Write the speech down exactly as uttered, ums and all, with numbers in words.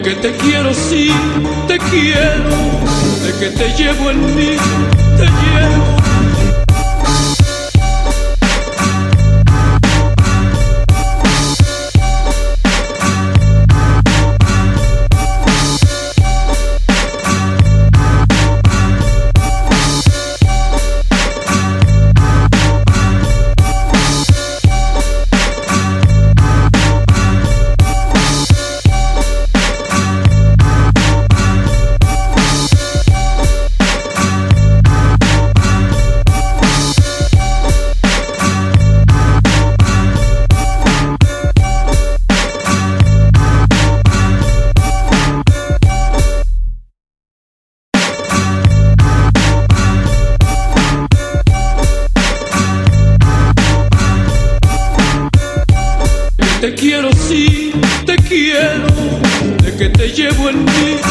que te quiero, sí, te quiero, de que te llevo en mí, te llevo. Te quiero, sí, te quiero, de que te llevo en mí,